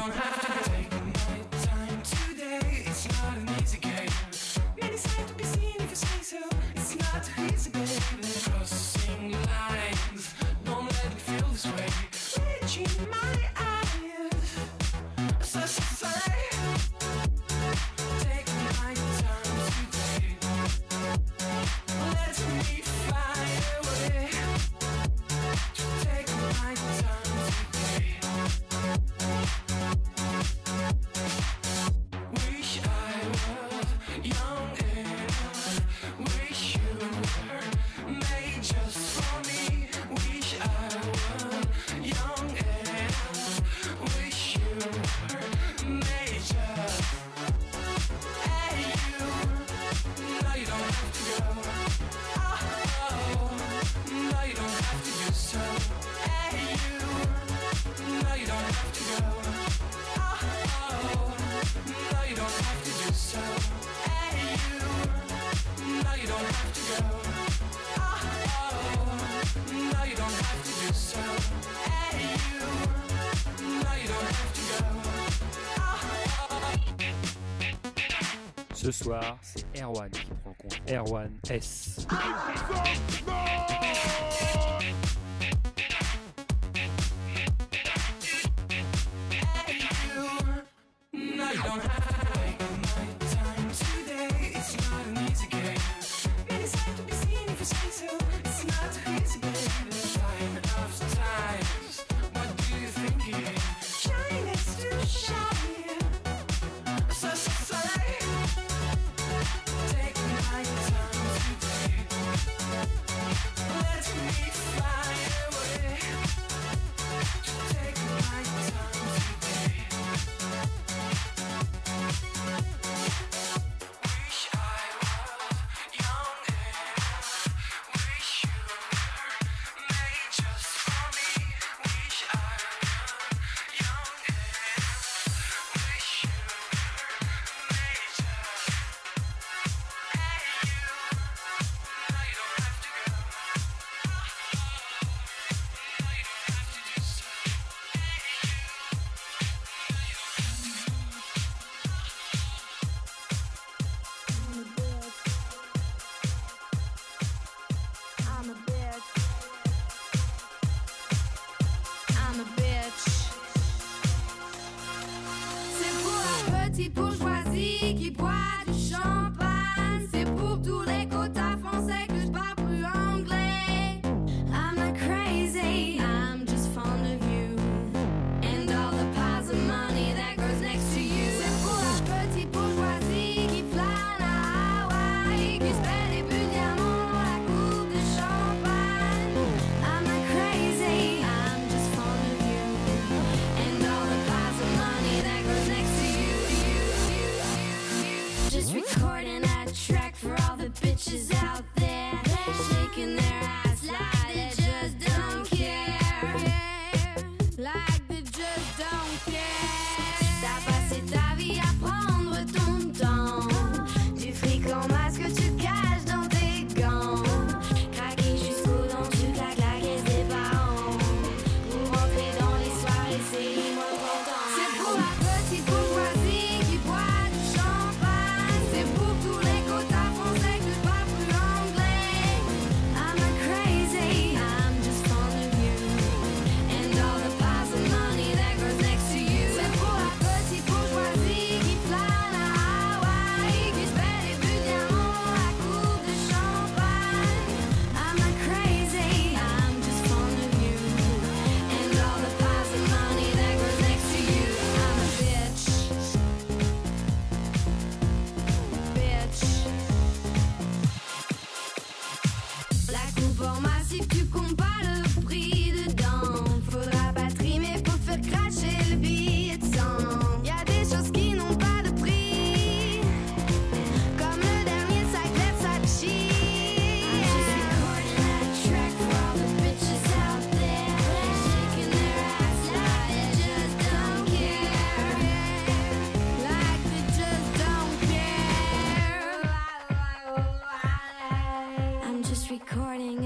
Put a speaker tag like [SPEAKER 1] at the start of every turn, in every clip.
[SPEAKER 1] don't have to take my time today. It's not an easy game. Many sights to be seen if you say so. It's not easy, baby. Crossing lines, don't let me feel this way. Reaching my eyes, so say, take my time today. Let me fly away. Take my time today. Wish I was young enough. Wish you were made just for me. Wish I was young enough. Wish you were made just. Hey you, no you don't have to go. Oh, no you don't have to do so. Hey you, no you don't have to go. Oh, no you don't have to do so. Hey you, no you don't have to go. Oh, no you don't have to do so. Hey you, no you don't have to go.
[SPEAKER 2] Ce soir, c'est Erwan qui prend le compte. Erwan S.
[SPEAKER 1] Hey you, no you don't have to take my time today. It's not an easy game. Many sights to be seen if you say so. It's not easy, baby. Sign of times. What do you think it is? Shine is too shiny. So say, take my time today. Let me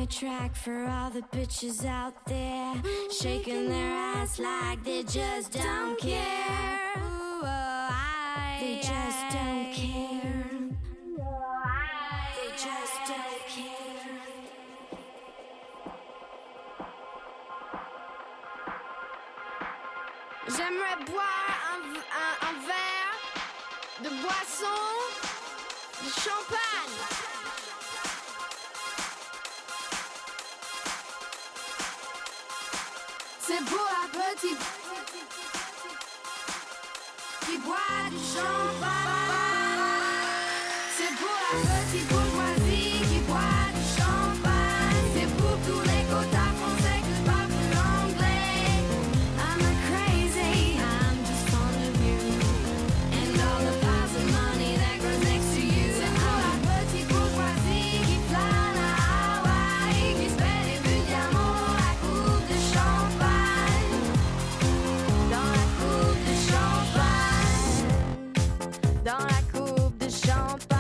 [SPEAKER 3] a track for all the bitches out there, shaking their ass like they just don't care. They just don't care. They just don't care. J'aimerais boire un verre de boisson, de champagne. C'est pour un petit qui boit du champagne. C'est pour la petite bourgeoisie qui boit du champagne. C'est pour tous les quotas français que je parle plus l'anglais. I'm not crazy, I'm just fond of you and all the piles of money that grows next to you. C'est pour la petite bourgeoisie qui plane à Hawaï, qui se fait des buts de diamant dans la coupe de champagne. Dans la coupe de champagne. Dans la coupe de champagne.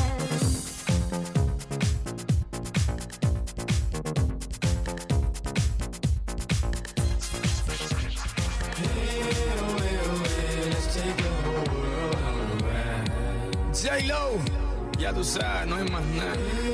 [SPEAKER 4] J-Lo, ya tú sabes, no hay más nada.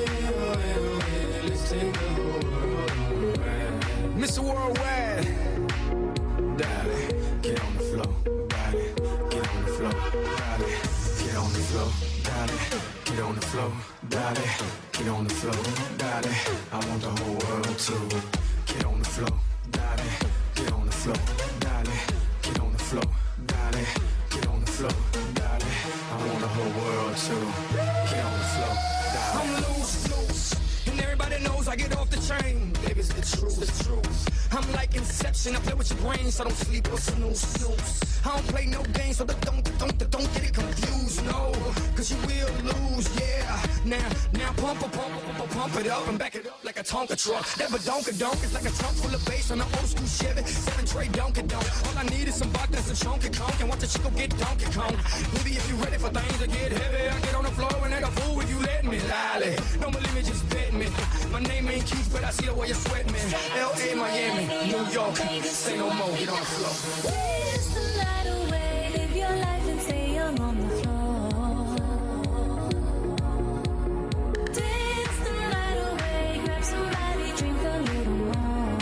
[SPEAKER 4] Mr. Worldwide, dale, get on the floor, dale, get on the floor, dale, get on the floor, dale, get on the floor, dale, get on the floor, dale. I want the whole world to get on the floor, dale, get on the floor, dale, get on the floor, dale, get on the floor, dale. I want the whole world to get on the floor, dale. I'm loose, and everybody knows I get off the train. Baby, it's the truth, the truth. I'm like Inception, I play with your brain, so don't sleep or snooze. I don't play no games, so don't get it confused, no. Cause you will lose, yeah. Now pump it up and back it up like a Tonka truck. That badonka-donk is like a trunk full of bass on an old school Chevy 7 tray donka-donk. All I need is some vodka and some chunky conk, and watch the chico get Donkey Kong. Maybe if you ready for things to get heavy, I get on the floor and act a fool if you let me. Lolly, don't believe me, just bet me. My name ain't Keith, but I see the way you sweat me. L.A., Miami, New York, say no more, get on the floor.
[SPEAKER 3] Dance the night away, live your life and stay young on the floor. Dance the night away, grab somebody, drink a little more.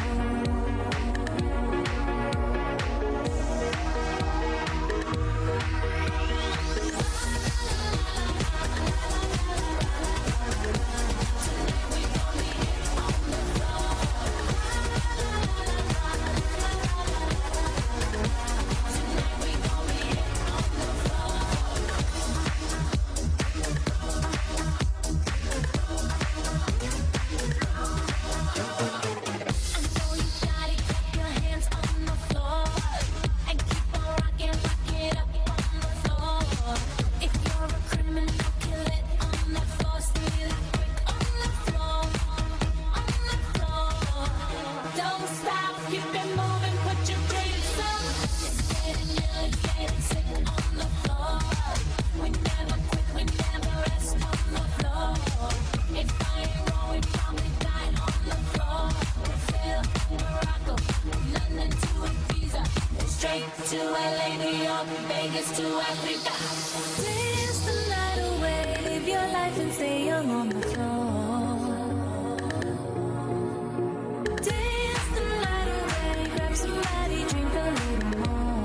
[SPEAKER 3] To LA, New York, Vegas to Africa. Dance the night away, live your life and stay young on the floor. Dance the night away, grab somebody, drink a little more.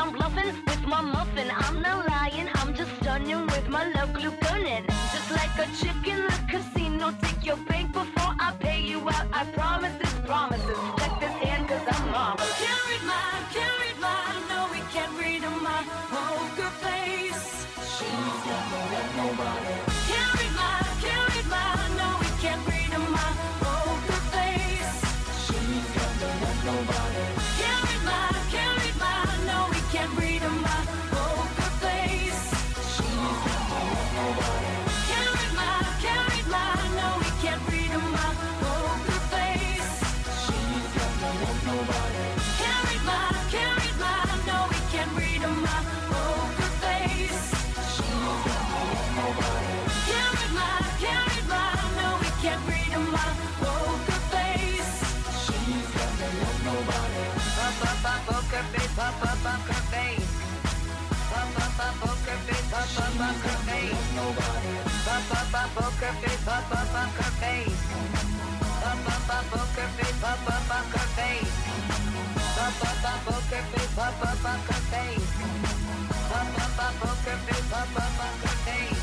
[SPEAKER 5] I'm bluffing with my muffin. I'm not lying, I'm just stunning with my love glue gunning. Just like a chick in the casino, take your bank before I pay you out. I promise this promises. Check this hand cause I'm marvelous. Can't read mine, no we can't read my poker face. She's never let nobody. Can't read mine, no we can't read my poker face. She's never let nobody. Can't read mine, no we can't read my poker face. She's never let nobody. Can't read mine, no we can't read my poker face. She's never let nobody. Can't read mine, no we can't read my poker face. She's never let nobody. Can't read mine, no we can't read my poker face. She's never let nobody. Poker face, poker face. Poker face, poker face. Nobody. Poker face, poker face. Poker face, poker face. Poker face, poker face. Poker face, poker face.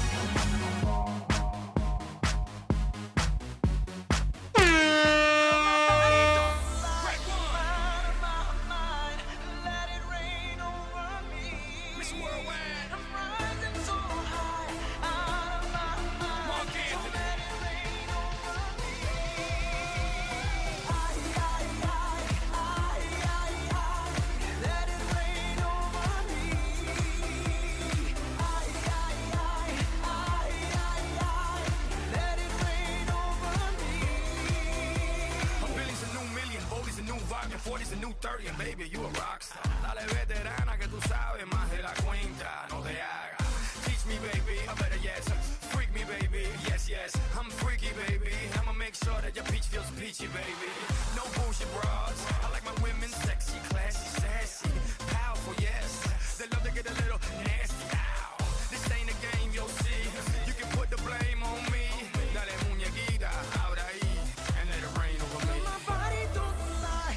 [SPEAKER 4] Baby, you a rockstar. Dale veterana que tú sabes más de la cuenta. No te hagas. Teach me, baby. I better yes. Freak me, baby. Yes, yes. I'm freaky, baby. I'ma make sure that your peach feels peachy, baby. No bullshit bras. I like my women sexy, classy, sassy, powerful, yes. They love to get a little nasty. Ow. This ain't a game, you'll see. You can put the blame on me. Dale muñequita, ahora ahí, and let it rain over me. My body don't lie.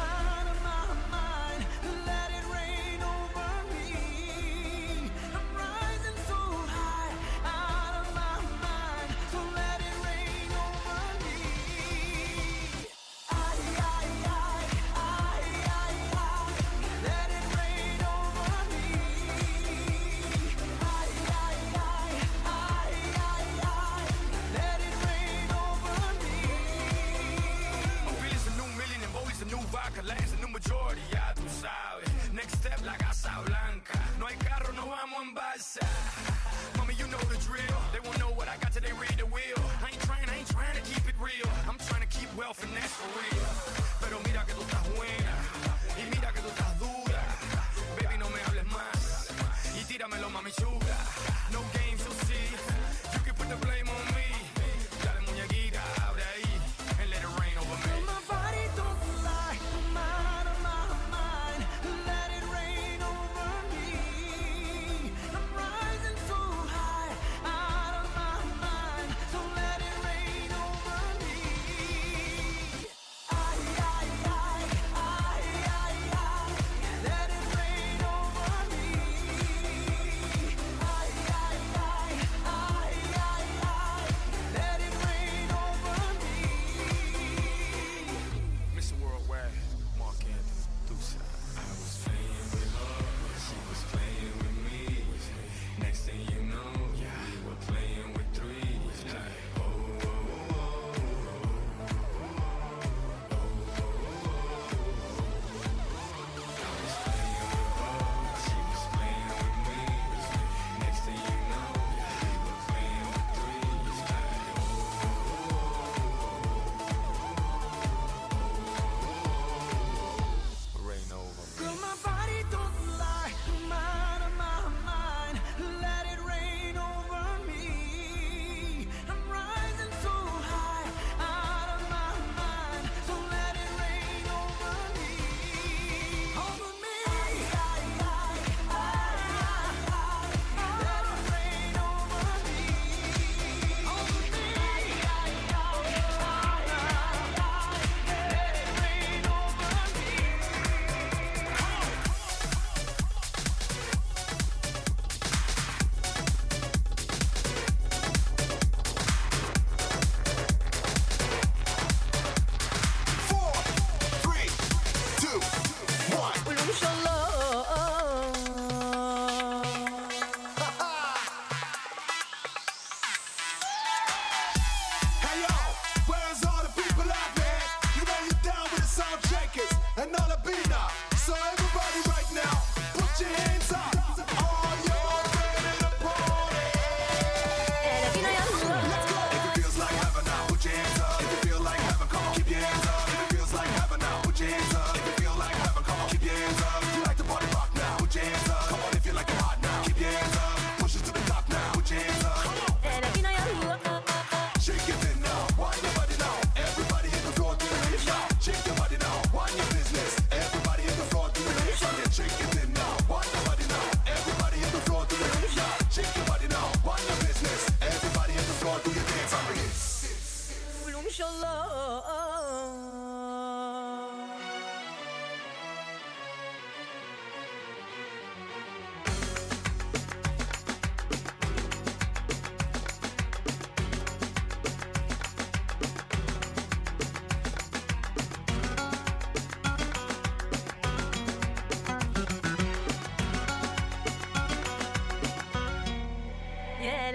[SPEAKER 4] Lance, a new majority, ya tú sabes. Next step, la Casa Blanca. No hay carro, no vamos en balsa. Mommy, you know the drill. They won't know what I got till they read the wheel. I ain't trying to keep it real. I'm trying to keep wealth and that's for real. Pero mira que tú estás buena. Y mira que tú estás dura. Baby, no me hables más. Y tíramelo, mami chula. No games, you'll see. You can put the blame on me. Dale muñequita, abre ahí. And let it rain over me. My body don't lie.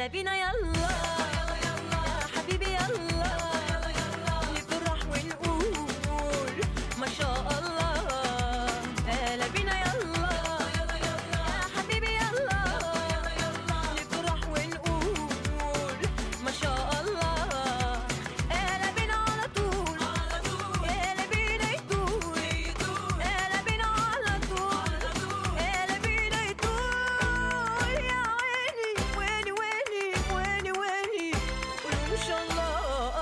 [SPEAKER 5] بينا يلا يا حبيبي يلا نفرح ونقول ما شاء الله هلا بينا يلا يا حبيبي يلا نفرح ونقول ما شاء الله هلا بينا على طول هلا بينا يطول هلا بينا على طول هلا بينا يطول يا عيني ويني ويني ويني ويني قولوا ان شاء الله.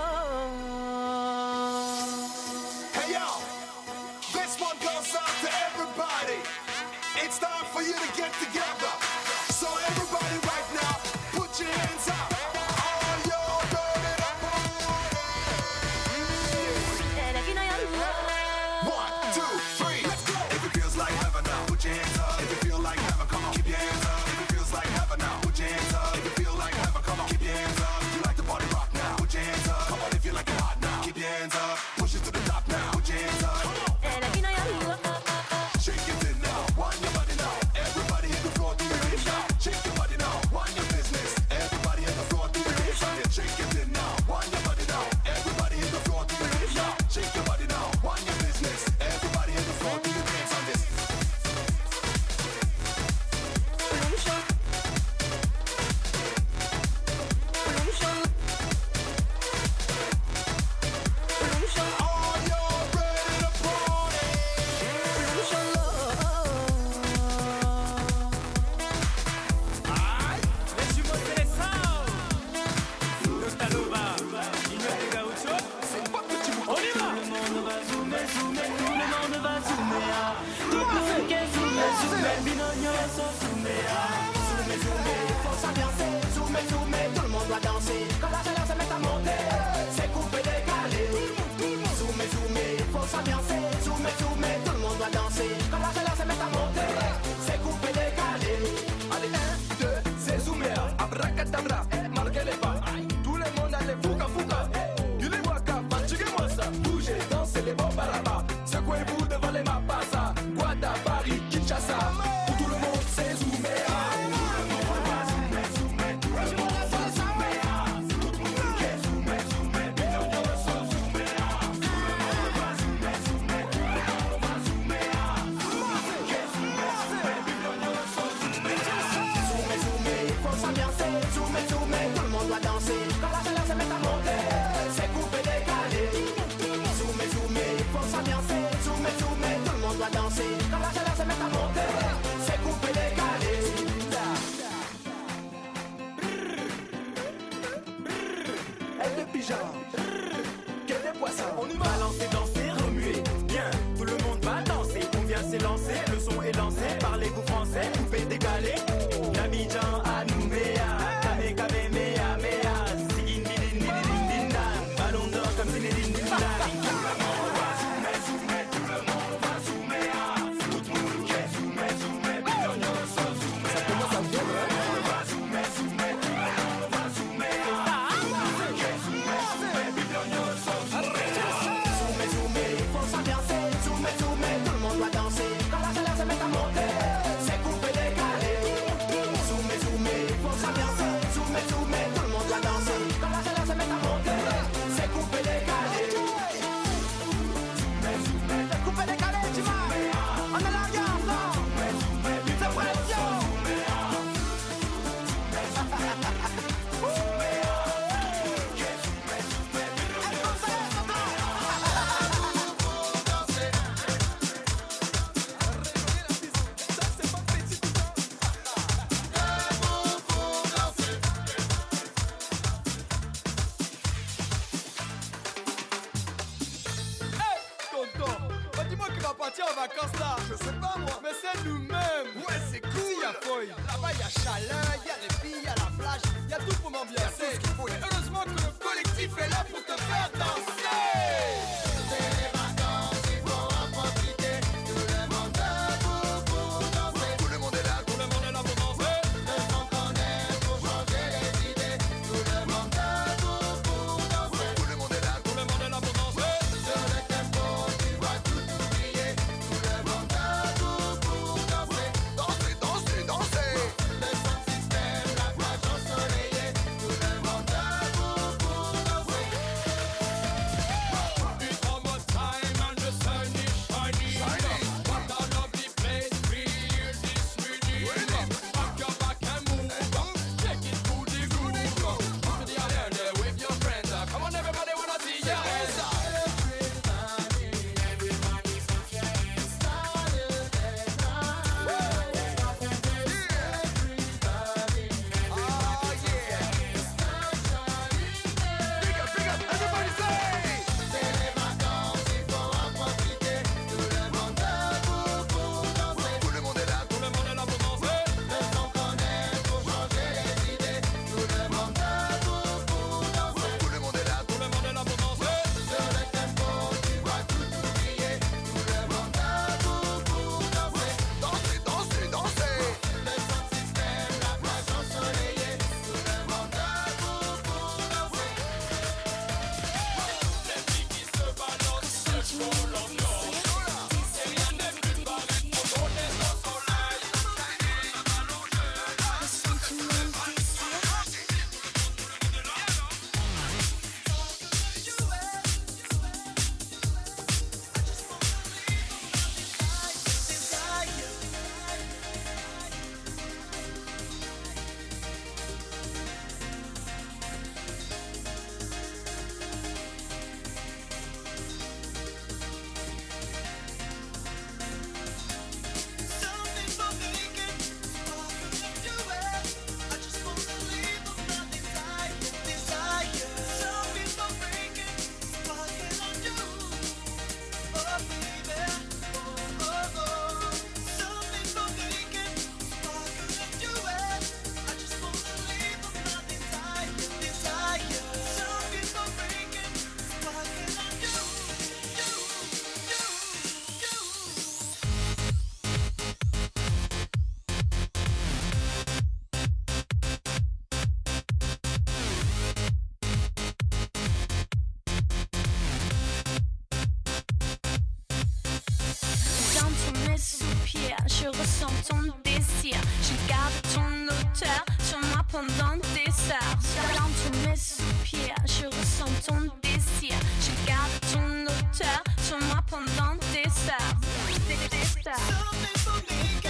[SPEAKER 6] Hey yo, this one goes out to everybody. It's time for you to get together. So everybody right now, put your hands up. All y'all ready to party?
[SPEAKER 5] هلا بينا يلا
[SPEAKER 6] 1, 2, 3, let's go. If it feels like heaven now, put your hands up. If you feel like heaven, come on, keep your hands up. If it feels like heaven now, put your hands up. If you feel like heaven, come on, keep your hands up. If you like the party rock now, put your hands up. Come on, if you like it hot now, keep your hands up. Push it to the top now, put your hands up.
[SPEAKER 5] هلا بينا يلا
[SPEAKER 6] Shake it in now, wind your body now. Everybody hit the floor, do your hands now. Shake your body now, wind your business. Everybody hit the floor, do your hands on it. Shake it in now, wind your body now. Everybody hit the floor, do your hands now. Shake your body now, wind your business. Everybody hit the floor, do your hands on this. All y'all ready to party?
[SPEAKER 2] Les jumeaux Célestin Nostalova Igno de Gaucho On y va. Tout le monde va zoomer, zoomer, tout le monde va zoomer ah. Tout le monde est zoomer, zoomer, binogno so zoomer ah.
[SPEAKER 7] Zoomer, zoomer, faut s'ambiancer. Zoomer, zoomer, tout le monde doit danser. Quand la chaleur se met à monter, c'est coupé, décalé. Zoomer, zoomer, faut s'ambiancer. Zoomer, zoomer, tout le monde doit danser. Quand la chaleur se met à monter, c'est coupé, décalé. Allez, 1, 2, c'est zoomer. Abracadabra, marquez les pas. Tout le monde a les fouga fouga. Yule waka, fatiguez-moi ça. Bougez, dansez les bons barabas. Secouez-vous devant les mapasa. Guada, Paris, Kinshasa. Tout le monde, c'est zoomer. Zoomer, zoomer, faut s'ambiancer. Zoomer, zoomer, tout le monde doit danser. Quand la chaleur se met à monter, c'est coupé, décalé. Zoomer, zoomer, faut s'ambiancer. Zoomer, zoomer, tout le monde doit danser. Quand la chaleur se met à monter, c'est coupé, décalé. Elle de pyjama, quel des poissons. On y va. Balancer, danser, remuer. Bien, tout le monde va danser. On vient s'élancer, le son est lancé. Parlez-vous français, coupé, décalé. L'Abidjan à Nouméa. Kame, kame, mea, mea. Sigin, midin, midin, din, din, dan. Ballon d'or comme Zinedine Zidane. Tout le monde va zoomer, zoomer. Tout le monde va zoomer. Tout le monde qui est zoomer, zoomer. Binogno so zoomer. Ça commence à bien, hein? Tout le monde va zoomer, zoomer. Tout le monde va zoomer. Tout le monde qui est zoomer, zoomer. Binogno so zoomer. Zoomer, zoomer, faut s'ambiancer. Zoomer, zoomer, tout le monde doit danser. Quand la chaleur se met à monter, c'est coupé, décalé. Zoomer, zoomer, faut s'ambiancer. Zoomer, zoomer, tout le monde doit danser. Quand la chaleur se met à monter, c'est coupé, décalé. Zoomer, zoomer, c'est coupé, décalé, tu vois. On est là, regarde, là. C'est pression.
[SPEAKER 8] Tonton, bah dis-moi qui va partir en vacances là. Je sais pas moi. Mais c'est nous-mêmes. Ouais, c'est cool. Il y a Foy. Là-bas, il y a chaleur, il y a les filles, il y a la plage, il y a tout pour m'ambiancer. Et heureusement que le collectif est là pour te faire danser. C'est les vacances, il faut en profiter. Tout le monde debout pour danser. Tout le monde est là, tout le monde est là pour danser. Le son qu'on aime pour changer les idées. Tout le monde debout pour danser. Tout le monde est là, tout le monde est là pour danser. Sur le tempo, tu vas tout oublier. Tout le monde debout pour danser. Danser, danser, danser. Le son système, la plage ensoleillée.
[SPEAKER 9] mes soupirs, je ressens ton désir. Je garde ton odeur sur moi pendant des heures. Dans tous mes soupirs, je ressens ton désir. Je garde ton odeur sur moi pendant des heures. Des heures.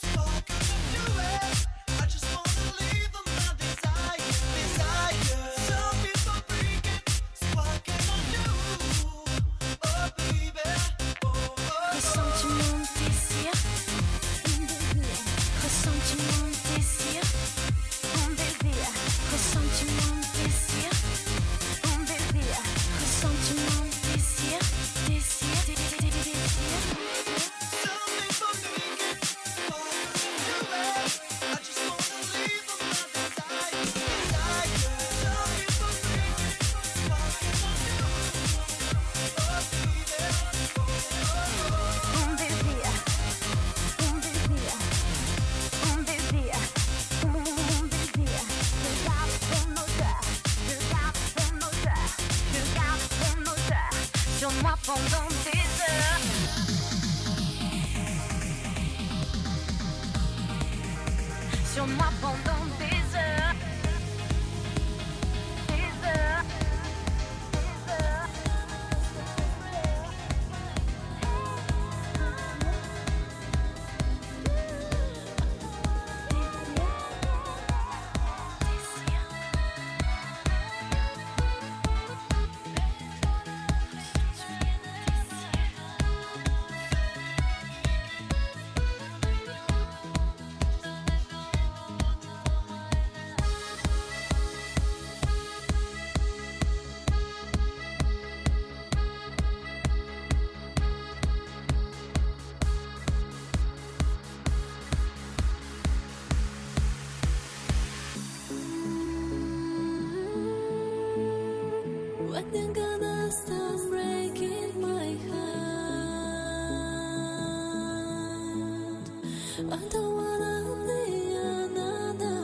[SPEAKER 9] Pendant des heures. Sur moi pendant des heures. Des heures. Des heures.
[SPEAKER 10] When you're gonna stop breaking my heart, I don't wanna be another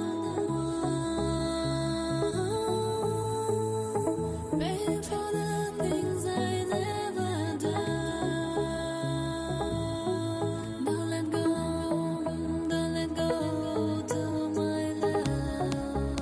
[SPEAKER 10] one. Pay for the things I never done. Don't let go to my love.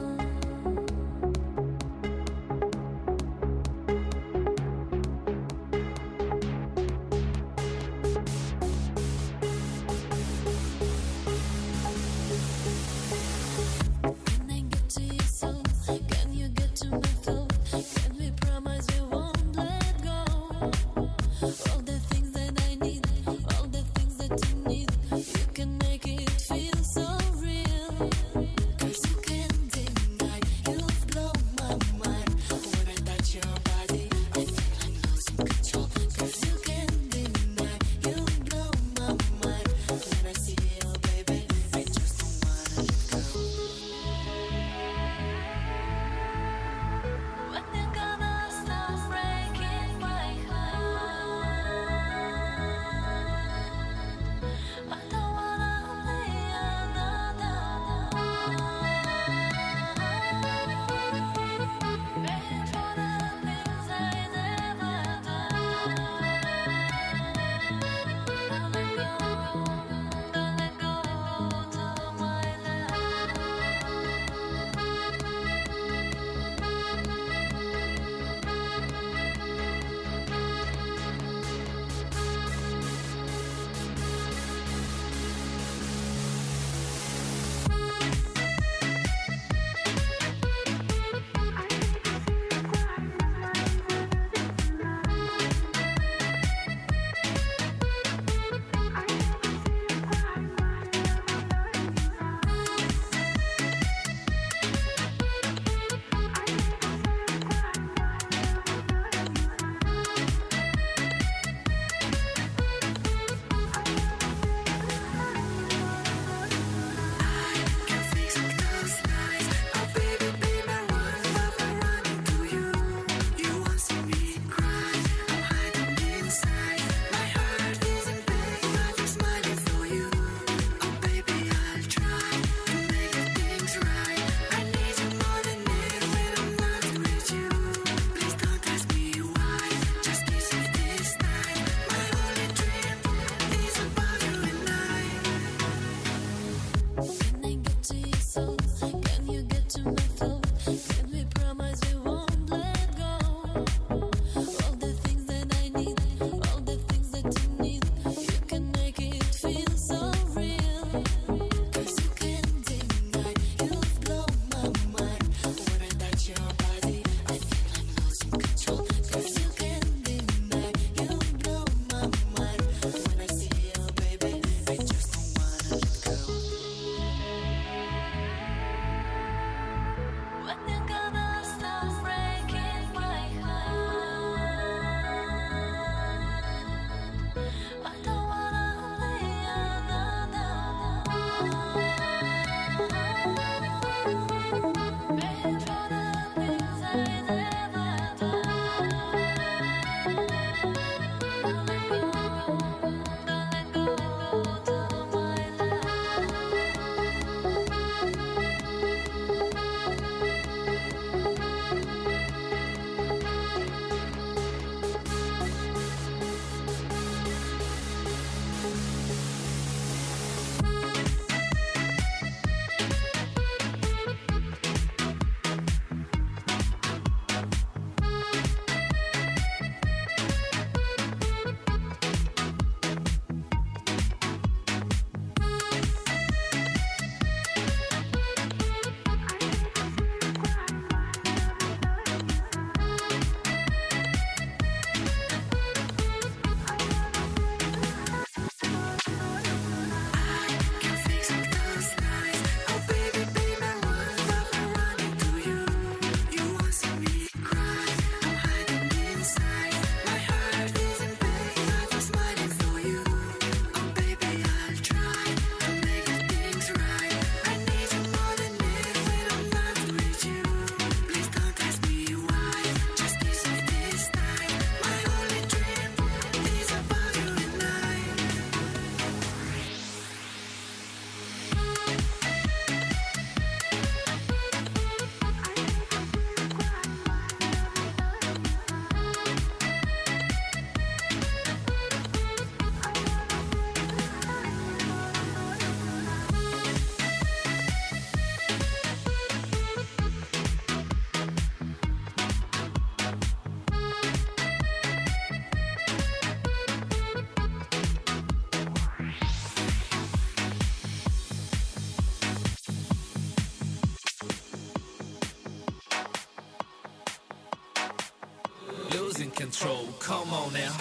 [SPEAKER 11] control. Come on now.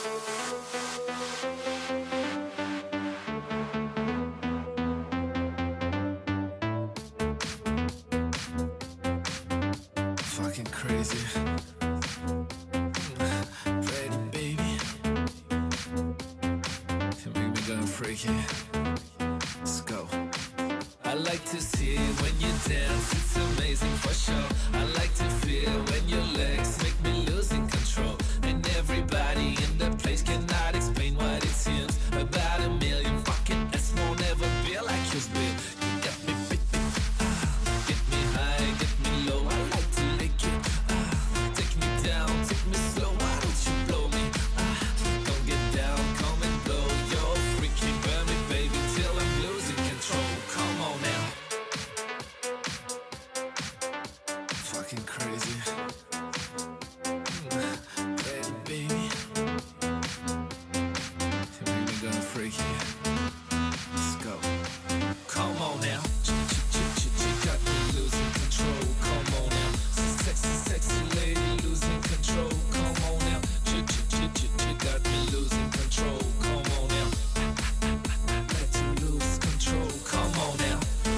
[SPEAKER 11] Fucking crazy. Pretty baby. You make me go freaky. Let's go. I like to see when you dance, it's amazing for sure. I like to feel when your legs make me losing control. And everybody in the place cannot explain what it seems. About a million fucking S won't ever be like yours, babe. You got me baby. Get me high, get me low. I like to lick it. Take me down, take me slow. Why don't you blow me? Don't get down, come and blow. You're freaky, burn me, baby, till I'm losing control. Come on now. Fucking crazy. Pretty baby. You make me go freaky. Let's go. Come on now. Got me losing control. Come on now. Sexy, sexy lady losing control. Come on now. Got me losing control. Come on now. Let you lose control. Come on now.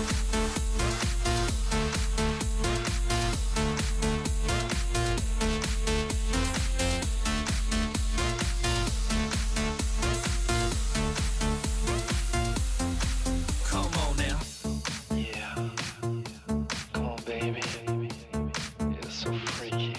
[SPEAKER 11] Come on now.
[SPEAKER 4] Yeah. Come on, baby. You're so freaky.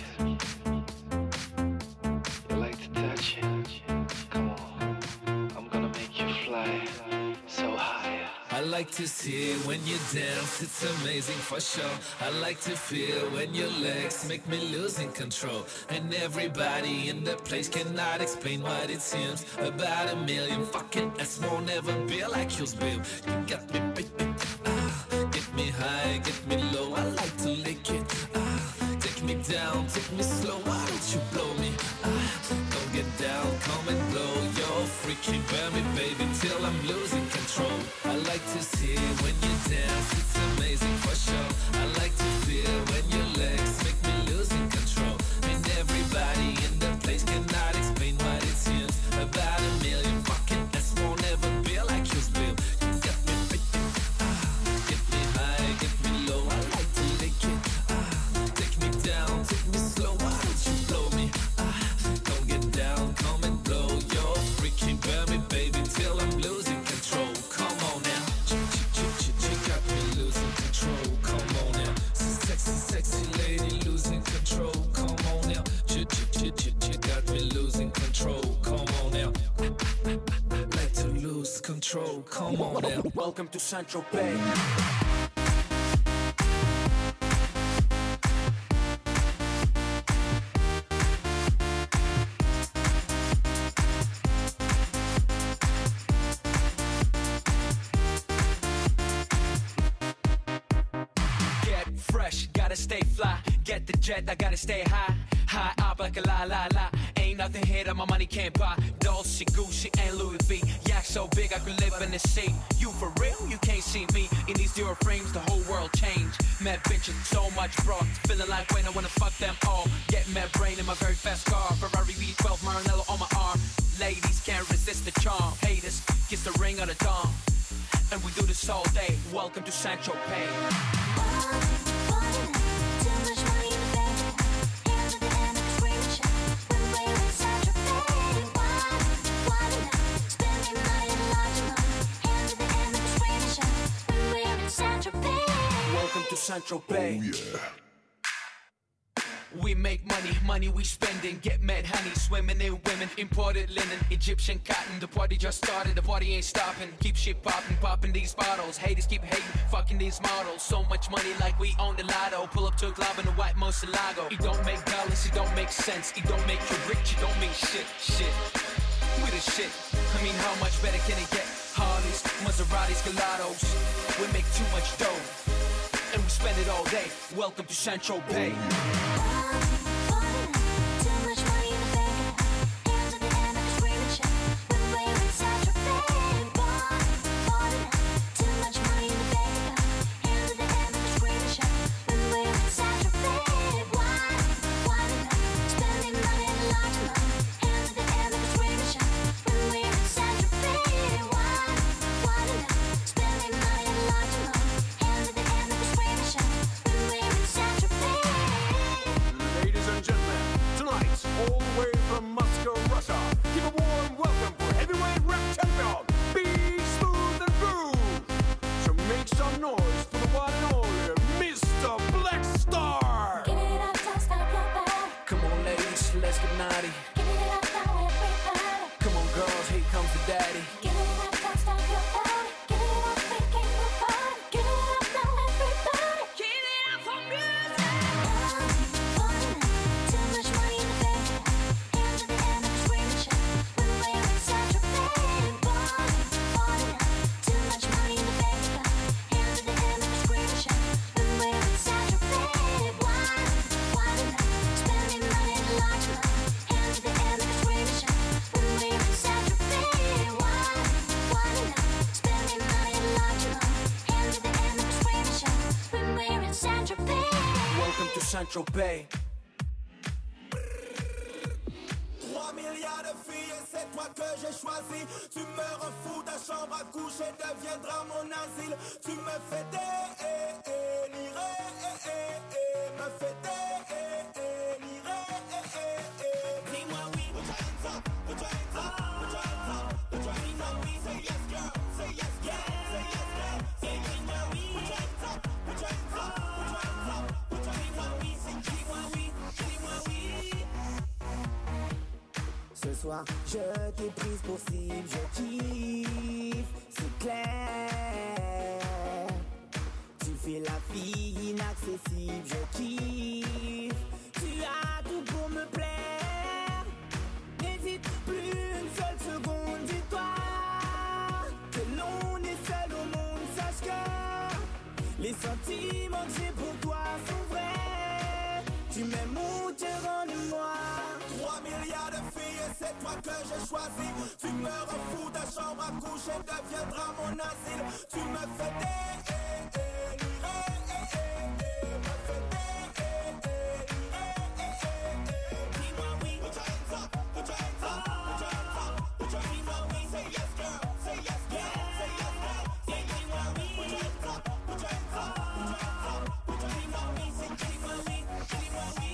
[SPEAKER 4] You like to touch it? Come on. I'm gonna make you fly so high.
[SPEAKER 11] I like to see when you dance, it's amazing for sure. I like to feel when your legs make me losing control. And everybody in the place cannot explain what it seems. About a million fucking S won't ever be like yours, babe. You got me, baby. Get me high, get me low. I like to lick it. Take me down, take me slow. Why don't you blow me? Don't get down, come and blow. You're freaky, burn me, baby, till I'm losing control. I like to see when you dance, it's amazing for sure. I like to feel when your legs make me losing control. And everybody in the place cannot explain what it seems. About a million fucking S won't ever be like yours, babe. You got me, baby. Get me high, get me low. I like to lick it. Take me down, take me slow. Why don't you blow me? Don't get down, come and blow. You're freaky, burn me, baby, till I'm losing control. Come on now. Got me losing control. Come on now. Sexy, sexy lady losing control. Come on now. Got me losing control. Come on now. Like to lose control. Come on now.
[SPEAKER 7] Welcome to Central Bay. Get fresh, gotta stay fly. Get the jet, I gotta stay high. High up like a la la la. Ain't nothing here that my money can't buy. Dolce, Gucci, and Louis V. Yak so big I could live in the sea. You for real? You can't see me. In these Dior frames, the whole world changed. Mad bitches, so much broad. Feeling like when I wanna fuck them all. Get mad brain in my very fast car. Ferrari V12, Maranello on my arm. Ladies can't resist the charm. Haters, kiss the ring of the dawn. And we do this all day. Welcome to Central Bay. Welcome to Central Bay.
[SPEAKER 6] Oh, yeah.
[SPEAKER 7] We make money, money we spending. Get mad honey, swimming in women. Imported linen, Egyptian cotton. The party just started, the party ain't stopping. Keep shit popping, popping these bottles. Haters keep hating, fucking these models. So much money like we own the lotto. Pull up to a club in a white Moselago. It don't make dollars, it don't make sense. It don't make you rich, it don't mean shit, shit. We the shit, I mean how much better can it get? Harleys, Maseratis, Gelatos. We make too much dough, and we spend it all day. Welcome to Central Bay.
[SPEAKER 10] Spending money in a large amount.
[SPEAKER 12] Saint-Tropez.
[SPEAKER 7] 3 milliards de filles et c'est toi que j'ai choisi. Tu me rends fou, ta chambre à coucher deviendra mon asile. Tu me fais délirer, me fais délirer. Dis-moi oui, put your hands up, put your hands up, put your hands up, put your hands up. Say yes girl, say yes girl, say yes girl. Say dis-moi oui, put your hands up, put your hands up, put your hands up, put your hands up. Say dis-moi oui, dis-moi oui. Ce soir, je t'ai prise pour cible, je kiffe, c'est clair. Tu fais la fille inaccessible, je kiffe. Tu as tout pour me plaire. N'hésite plus une seule seconde, dis-toi que l'on est seul au monde. Sache que les sentiments que j'ai pour toi sont vrais. Tu m'aimes ou tu rends de moi. 3 milliards de filles et c'est toi que j'ai choisi. Tu me rends fou, ta chambre à coucher deviendra mon asile. Tu me fais délirer, me fais délirer. Dis-moi oui, put your hands up, put your hands up, put your hands up, put your hands up. Say yes girl, say yes girl, say yes girl. Say dis-moi oui, put your hands up, put your hands up, put your hands up, put your hands up. Say dis-moi oui, dis-moi oui.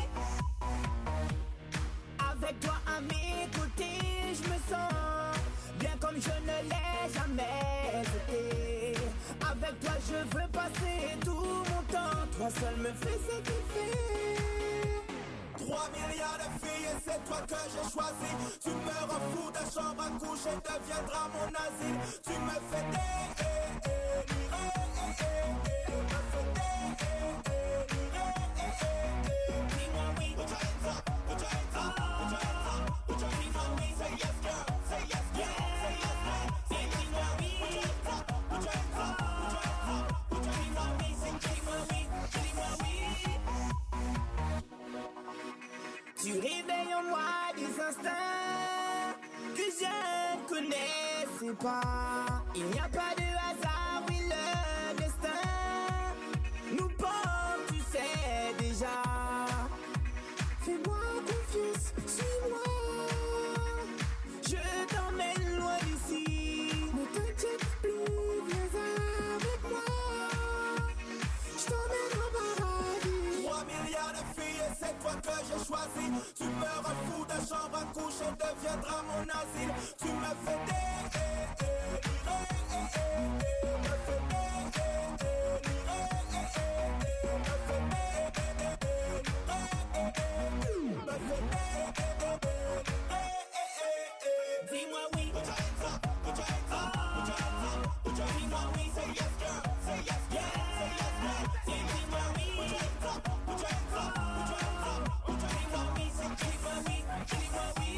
[SPEAKER 7] Avec toi à mes côtés, je me sens bien comme je ne l'ai jamais été. Avec toi, je veux passer tout mon temps. Toi seul me fais ce qu'il fait. 3 milliards de filles et c'est toi que j'ai choisi. Tu me rends fou, ta chambre à coucher deviendra mon asile. Tu me fais délirer, me fais délirer. Dis-moi oui, put your hands up, put your hands up, put your hands up, put your hands up. Say yes girl, say yes girl, say yes girl. Say dis-moi oui, put your hands up, put your hands up, put your hands up, put your hands up. Say dis-moi oui, dis-moi oui. Tu réveilles en moi des instincts que je ne connaissais pas. Il n'y a pas de hasard, oui le destin nous porte, tu sais déjà. Fais-moi confiance, suis-moi. Je t'emmène loin d'ici. Ne t'inquiète plus, viens avec moi. Je t'emmène au paradis. 3 milliards de filles et c'est toi que j'ai choisi. Tu me rends fou, ta chambre à coucher deviendra mon asile. Tu me fais délirer, me fais délirer, me fais délirer. Dis-moi oui, put your hands up, put your hands up, put your hands up, put your hands up. Say yes girl, say yes girl, say yes girl. Say dis-moi oui, put your hands up, put your hands up, put your hands up, put your hands up. Say dis-moi oui, dis-moi oui.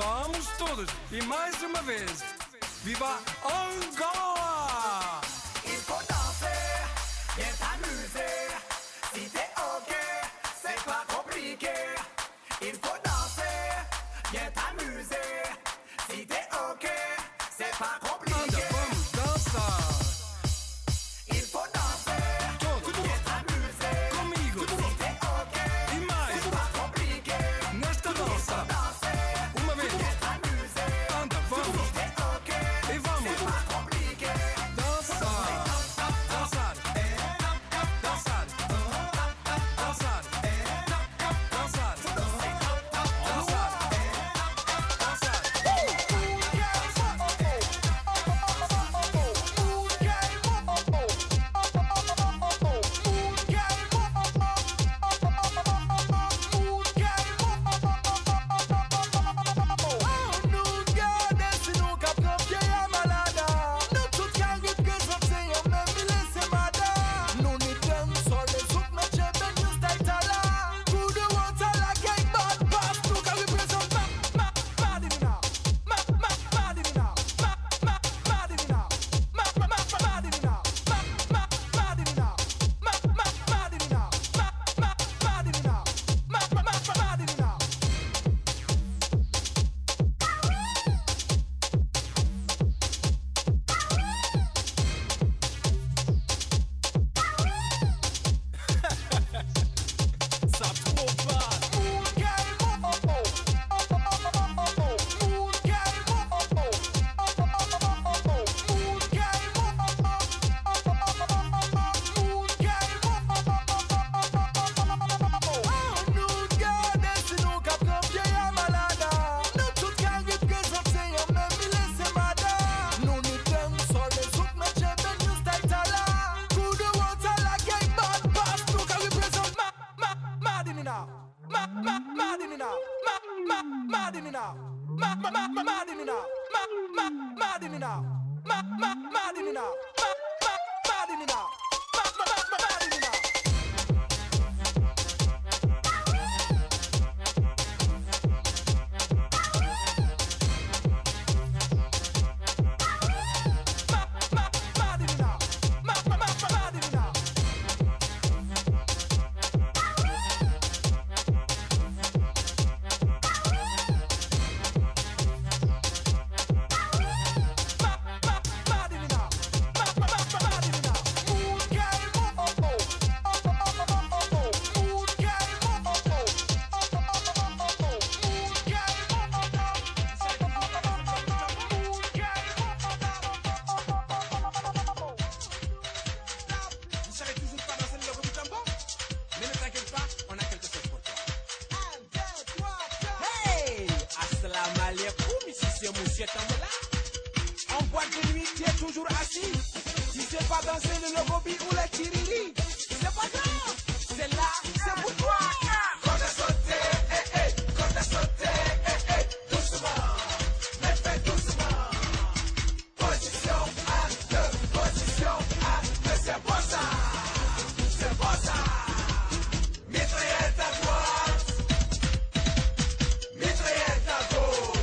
[SPEAKER 12] Vamos todos, e mais uma vez, viva Angola!
[SPEAKER 7] Il faut danser, bien t'amuser. Si t'es ok, c'est pas compliqué. Il faut danser, bien t'amuser. Si t'es ok, c'est pas compliqué.
[SPEAKER 12] Anda, vamos dançar!
[SPEAKER 7] Il faut danser, bien t'amuser.
[SPEAKER 12] Comigo!
[SPEAKER 7] Si t'es ok,
[SPEAKER 12] E mais,
[SPEAKER 7] c'est pas compliqué.
[SPEAKER 12] nesta dança!
[SPEAKER 7] Danser,
[SPEAKER 12] Uma vez!
[SPEAKER 7] bien t'amuser.
[SPEAKER 12] Anda, vamos!
[SPEAKER 7] Si t'es ok,
[SPEAKER 12] E vamos!
[SPEAKER 7] c'est pas compliqué.
[SPEAKER 12] Dançar! Dançar! Dançar! Dançar! Dançar!
[SPEAKER 13] Monsieur Tambola. En boîte de nuit, tu es toujours assis. Si c'est pas danser le logobi ou le tiriri, c'est pas grave. C'est là, c'est pour toi. Quand t'as sauté, quand t'as sauté, doucement, mais fais doucement. Position à deux, position à deux, c'est bon ça. C'est bon ça. Mitraillette à droite, mitraillette à gauche.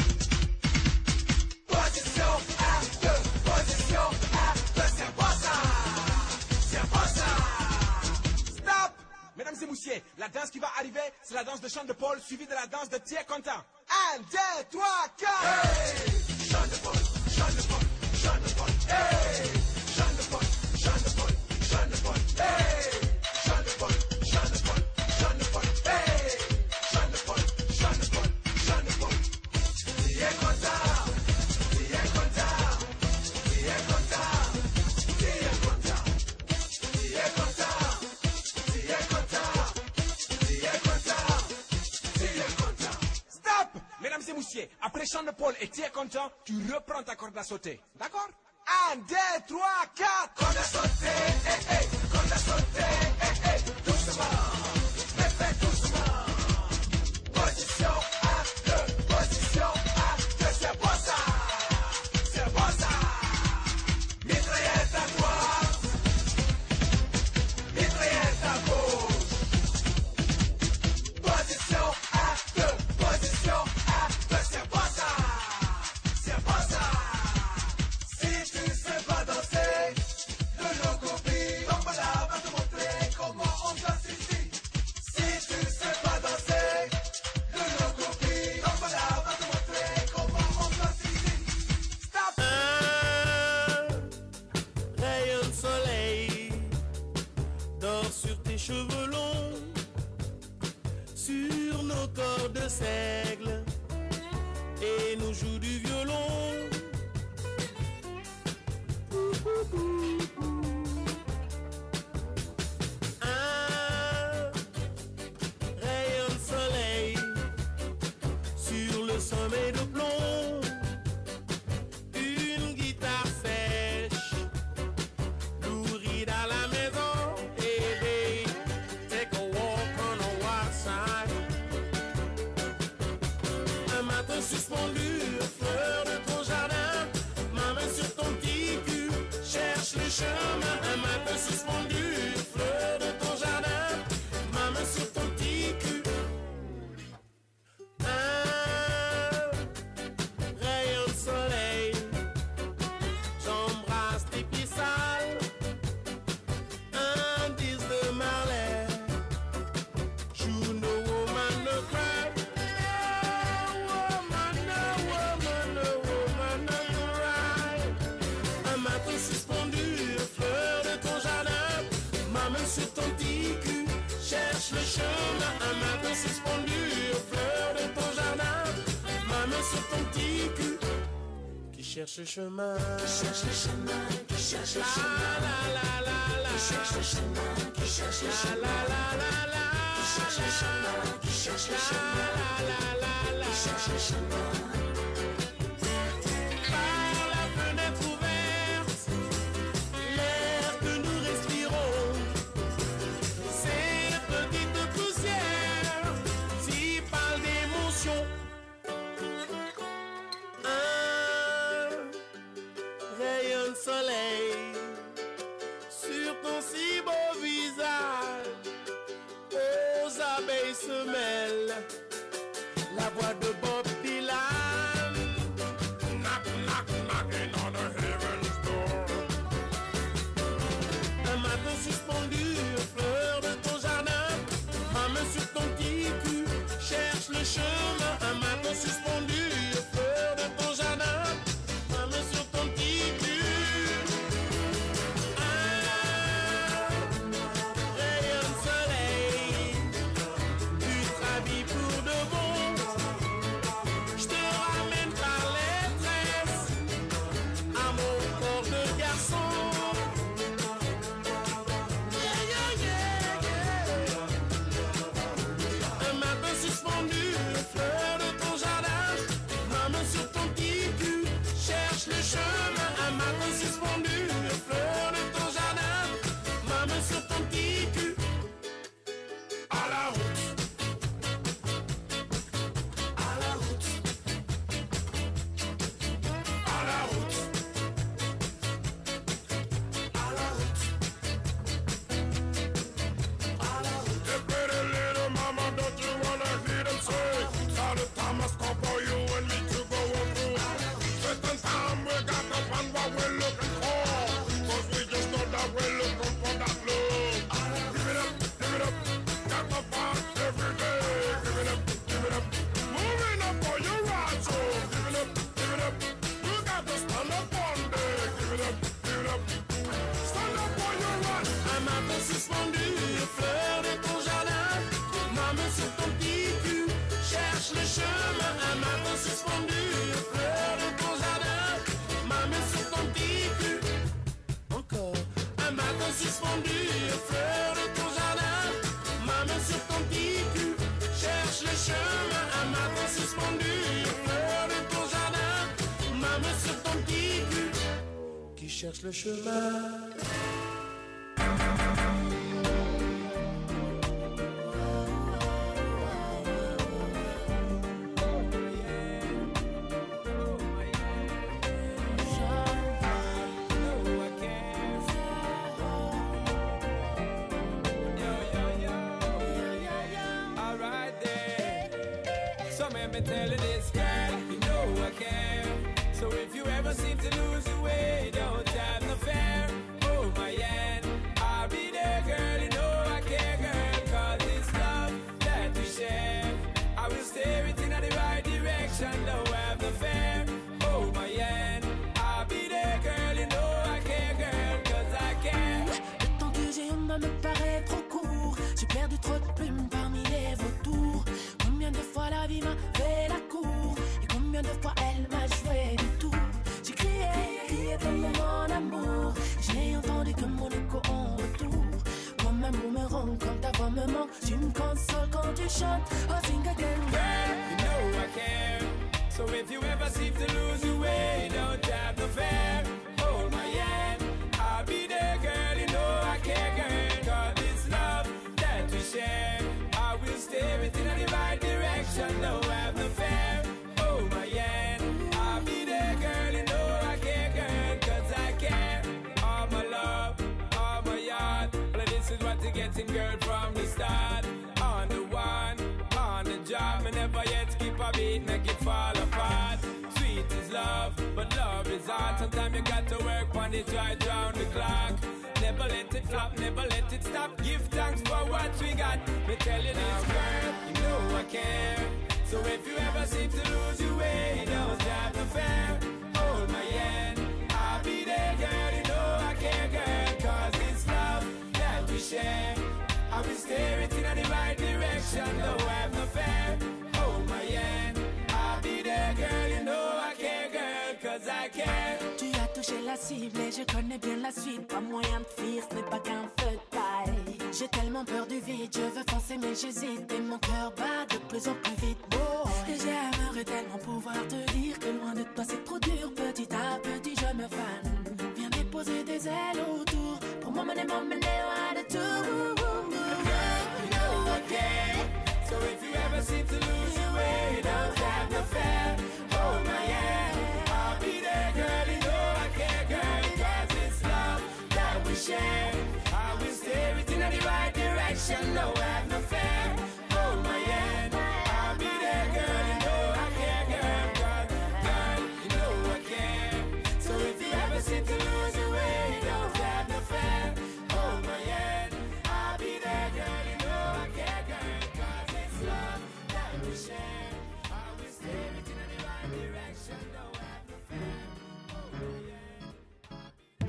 [SPEAKER 13] Position à deux, c'est bon ça. C'est bon ça. Stop. Mesdames et messieurs, la danse qui va arriver, c'est la danse de chant de Paul suivie de la danse de Thierry Contant. 1, 2, 3, 4. Hey, chant de Paul, chant de Paul, chant de Paul. Hey, chant de Paul, chant de Paul, chant de Paul. Hey, chant de Paul, chant de Paul, chant de Paul. Hey, chant de Paul, chant de Paul, chant de Paul. Thierry Contant, Thierry Contant, Thierry Contant, Thierry Contant, Thierry Contant, Thierry Contant, Thierry Contant, Thierry Contant. Stop! Mesdames et messieurs, après chant de Paul et Thierry Contant, tu reprends ta corde à sauter. D'accord? 1, 2, 3, 4. Corde à sauter, corde à sauter, doucement, mais fais doucement. Position à deux, position à deux, c'est bon ça. C'est bon ça. Mitraillette à droite, mitraillette à gauche. Position à deux, c'est bon
[SPEAKER 14] dort sur tes cheveux longs, sur nos corps de seigle, et nous joue du violon. Un rayon de soleil sur le sommet de plomb, une guitare sèche, louride à la maison, et babe, take a walk on a wild side. Un matin suspendu, fleur de ton jardin, ma main sur ton petit cul, cherche le chemin. Un matin suspendu, fleur de ton jardin, ma main sur ton petit cul. Un rayon de soleil, j'embrasse tes pieds sales, un disque de Marley, you know woman no cry, woman no cry. Un matin suspendu, fleur de ton jardin, ma main sur ton petit cul, cherche le chemin. Un matin suspendu, fleur de ton jardin, ma main sur ton petit cul, qui cherche le chemin, qui cherche le chemin, qui cherche le chemin, la la la la, qui cherche le chemin, qui cherche le chemin, la la la la, qui cherche le chemin, qui cherche le chemin, la la la la, qui cherche le chemin. Par la fenêtre ouverte, l'air que nous respirons, ces petites poussières, si parlent d'émotion. Un rayon de soleil sur ton si beau visage, aux abeilles se mêle la voix de Bob Dylan. Knock, knock, knocking on a heaven's door. Un matin suspendu, fleur de ton jardin, ma main sur ton petit cul, cherche le chemin. Un matin suspendu, fleur de ton jardin, ma main sur ton petit cul. Un rayon de soleil, tu t'habilles pour de bon, je te ramène par les tresses à mon corps de garçon. Yeah, yeah, yeah, yeah. Un matin suspendu, fleur de ton jardin, ma main sur ton petit cul, cherche le chemin. Un matin suspendu, fleur de ton jardin, ma main sur ton petit cul. À la route, à la route, à la route, à la route, à la route.
[SPEAKER 6] Hey, pretty little mama, don't you wanna hear them say? All the time must come for you and me to go through. Certain time we got to find what we're looking for, 'cause we just know that we're looking for that love. Give it up, got to find every day. Give it up, moving up for your ride, so give it up, you got to stand up one day. Give it up, stand up for your ride.
[SPEAKER 14] Un matin suspendu, fleur de ton jardin, ma main sur ton petit cul, cherche le chemin. Un matin suspendu, fleur de ton jardin, ma main sur ton petit cul. Encore. Un matin suspendu, fleur de ton jardin, ma main sur ton petit cul, cherche le chemin. Un matin suspendu, fleur de ton jardin, ma main sur ton petit cul, qui cherche le chemin.
[SPEAKER 2] Alright then. So man been telling this girl, you know I care. So if you ever seem to lose your way, don't have no fear. Oh my hand, I'll be there, girl. You know I care, girl. 'Cause it's love that we share. I will steer it in the right direction, don't have no fear. Oh my hand, I'll be there, girl. You know I care, girl. 'Cause I care.
[SPEAKER 9] Le temps que j'ai en bas me paraît
[SPEAKER 10] perdu trop de plumes parmi les vautours. Combien de fois la vie m'a fait la cour, et combien de fois elle m'a joué du tour. J'ai crié tellement mon amour, j'ai entendu que mon écho en retour. Comme un boomerang, quand ta voix me manque, tu me consoles quand tu chantes. Oh, sing again,
[SPEAKER 2] Girl, you know I care. So if you ever seem to lose your way, don't have no fear. Hold my hand, I'll be there, girl. You know I care, girl. Cause this love that we share, I will steer it in the right direction. No have no fear. Hold my hand, I'll be there, girl. You know I care, girl. Cause I care. All my love, all my yard. Well, this is what you're getting, girl, from the start. On the one, on the job, me never yet skip a beat, make it fall apart. Sweet is love, but love is hard. Sometimes you got to work on it right round the clock. Never let it flop, never let it stop. Give thanks for what we got. Me tell you this, girl, you know I care. So if you ever seem to lose your way, don't have no fear. Hold my hand, I'll be there, girl. You know I care, girl. Cause it's love that we share. I will steer it in the right direction. No have no fear. Hold my hand, I'll be there, girl. You know I care, girl. Cause I care.
[SPEAKER 10] Tu as touché la cible et je connais bien la suite. Pas moyen de fuir, ce n'est pas qu'un feu de paille. J'ai tellement peur du vide, je veux foncer mais j'hésite. Et mon cœur bat de plus en plus vite. Oh. Et j'aimerais tellement pouvoir te dire que loin de toi c'est trop dur. Petit à petit je me fane. Viens déposer des ailes autour pour m'emmener loin de tout.
[SPEAKER 2] You know I care. So if you ever seem to lose your way, don't have no fear. Hold my hand, I'll be there, girl. You know I care, girl. Cause it's love that we share. I will steer it in the right direction. No have no fear. Hold my hand, I'll be there, girl. You know I care, girl. Girl, you know I care. So if you ever seem to lose your way, don't have no fear. Hold my hand, I'll be there, girl. You know I care, girl. Cause it's love that we share. I will steer it in the right direction. No have no fear. Hold my hand.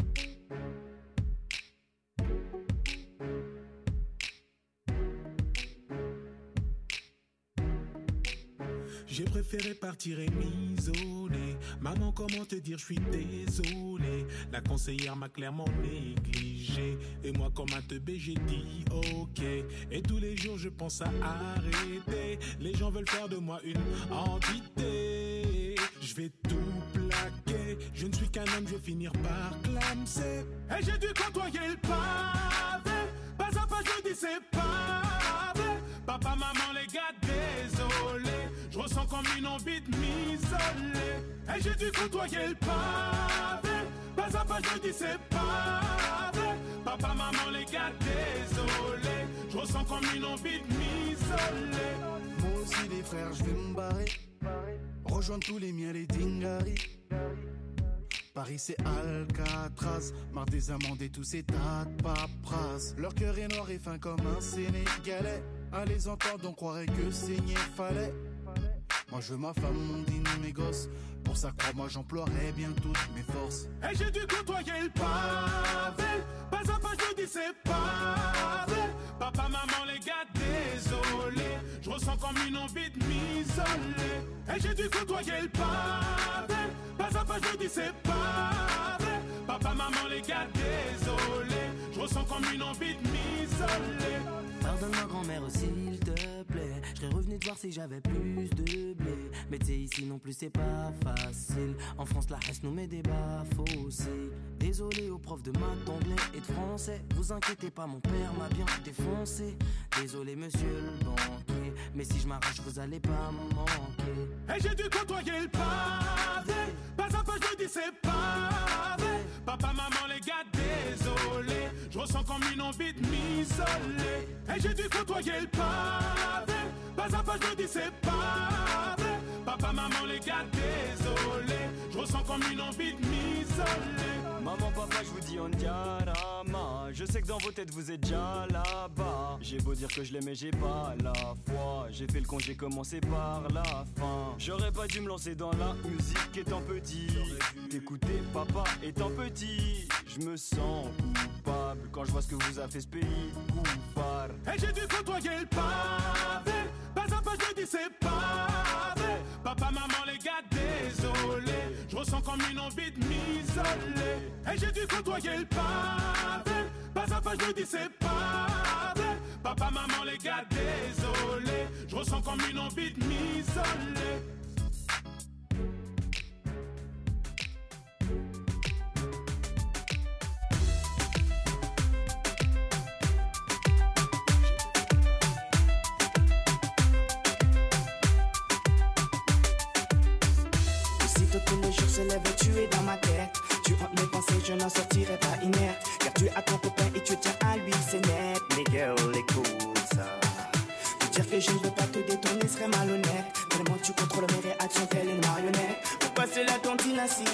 [SPEAKER 15] J'ai préféré partir et m'isoler. Maman, comment te dire, je suis désolé. La conseillère m'a clairement négligé. Et moi, comme un teubé, j'ai dit ok. Et tous les jours, je pense à arrêter. Les gens veulent faire de moi une entité. Je vais tout plaquer. Je ne suis qu'un homme, je vais finir par clamser. Et j'ai dû côtoyer le pavé. Pas à pas, je dis c'est pas vrai. Papa, maman, les gars, désolé. Je ressens comme une envie de m'isoler. Et j'ai dû côtoyer le pavé. Pas à pas, je dis c'est pas vrai. Papa, maman, les gars, désolé. Je ressens comme une envie de m'isoler.
[SPEAKER 16] Moi aussi les frères, je vais me barrer. Rejoindre tous les miens, les dingaris. Paris c'est Alcatraz. Marre des amendes et tous ces tas de paperasses. Leur cœur est noir et fin comme un Sénégalais. À les entendre on croirait que saigner fallait. Moi je veux ma femme, mon dîner, mes gosses. Pour ça crois-moi j'emploierai bien toutes mes forces.
[SPEAKER 15] Et j'ai dû côtoyer le pavé. Pas à pas je dis c'est pas vrai. Papa, maman, les gars, désolé. Je ressens comme une envie de m'isoler. Et j'ai dû côtoyer le pavé. Pas à pas je dis c'est pas vrai. Papa, maman, les gars, désolé. Je ressens comme une envie de m'isoler.
[SPEAKER 17] Pardonne-moi grand-mère s'il te plaît. Je serais revenu te voir si j'avais plus de blé. Mais t'sais ici non plus c'est pas facile. En France la haine nous met des baffes aussi. Désolé aux profs de maths, d'anglais et de français. Vous inquiétez pas, mon père m'a bien défoncé. Désolé monsieur le banquier, mais si je m'arrache vous allez pas me manquer.
[SPEAKER 15] Et j'ai dû côtoyer le pavé. Pas à pas je dis c'est pas vrai. Papa, maman, les gars, désolé. Je ressens comme une envie de m'isoler. Et j'ai dû côtoyer le pavé. Pas à pas je dis c'est pas vrai. Papa, maman, les gars, désolé. Je ressens comme une envie de m'isoler.
[SPEAKER 18] Maman, papa, je vous dis on diarama. Je sais que dans vos têtes vous êtes déjà là-bas. J'ai beau dire que je l'aimais, j'ai pas la foi. J'ai fait le con, j'ai commencé par la fin. J'aurais pas dû me lancer dans la musique étant petit. T'écouter papa étant petit. Je me sens coupable quand je vois ce que vous a fait ce pays couffard.
[SPEAKER 15] Et j'ai dû côtoyer le pavé. Pas à pas, je me dis c'est pas vrai. Papa, maman, les gars, désolé. Je ressens comme une envie de m'isoler. Et j'ai dû côtoyer le pavé. Pas à pas, je me dis c'est pas vrai. Papa, maman, les gars, désolé. Je ressens comme une envie de m'isoler.
[SPEAKER 19] Tous les jours se lève et tu es dans ma tête. Tu hantes mes pensées, je n'en sortirai pas inerte. Car tu as ton copain et tu tiens à lui, c'est net. Les girls, écoute ça. Te dire que je ne veux pas te détourner serait malhonnête. Tellement tu contrôles mes réactions telle une marionnette. Pourquoi c'est la tontine ainsi?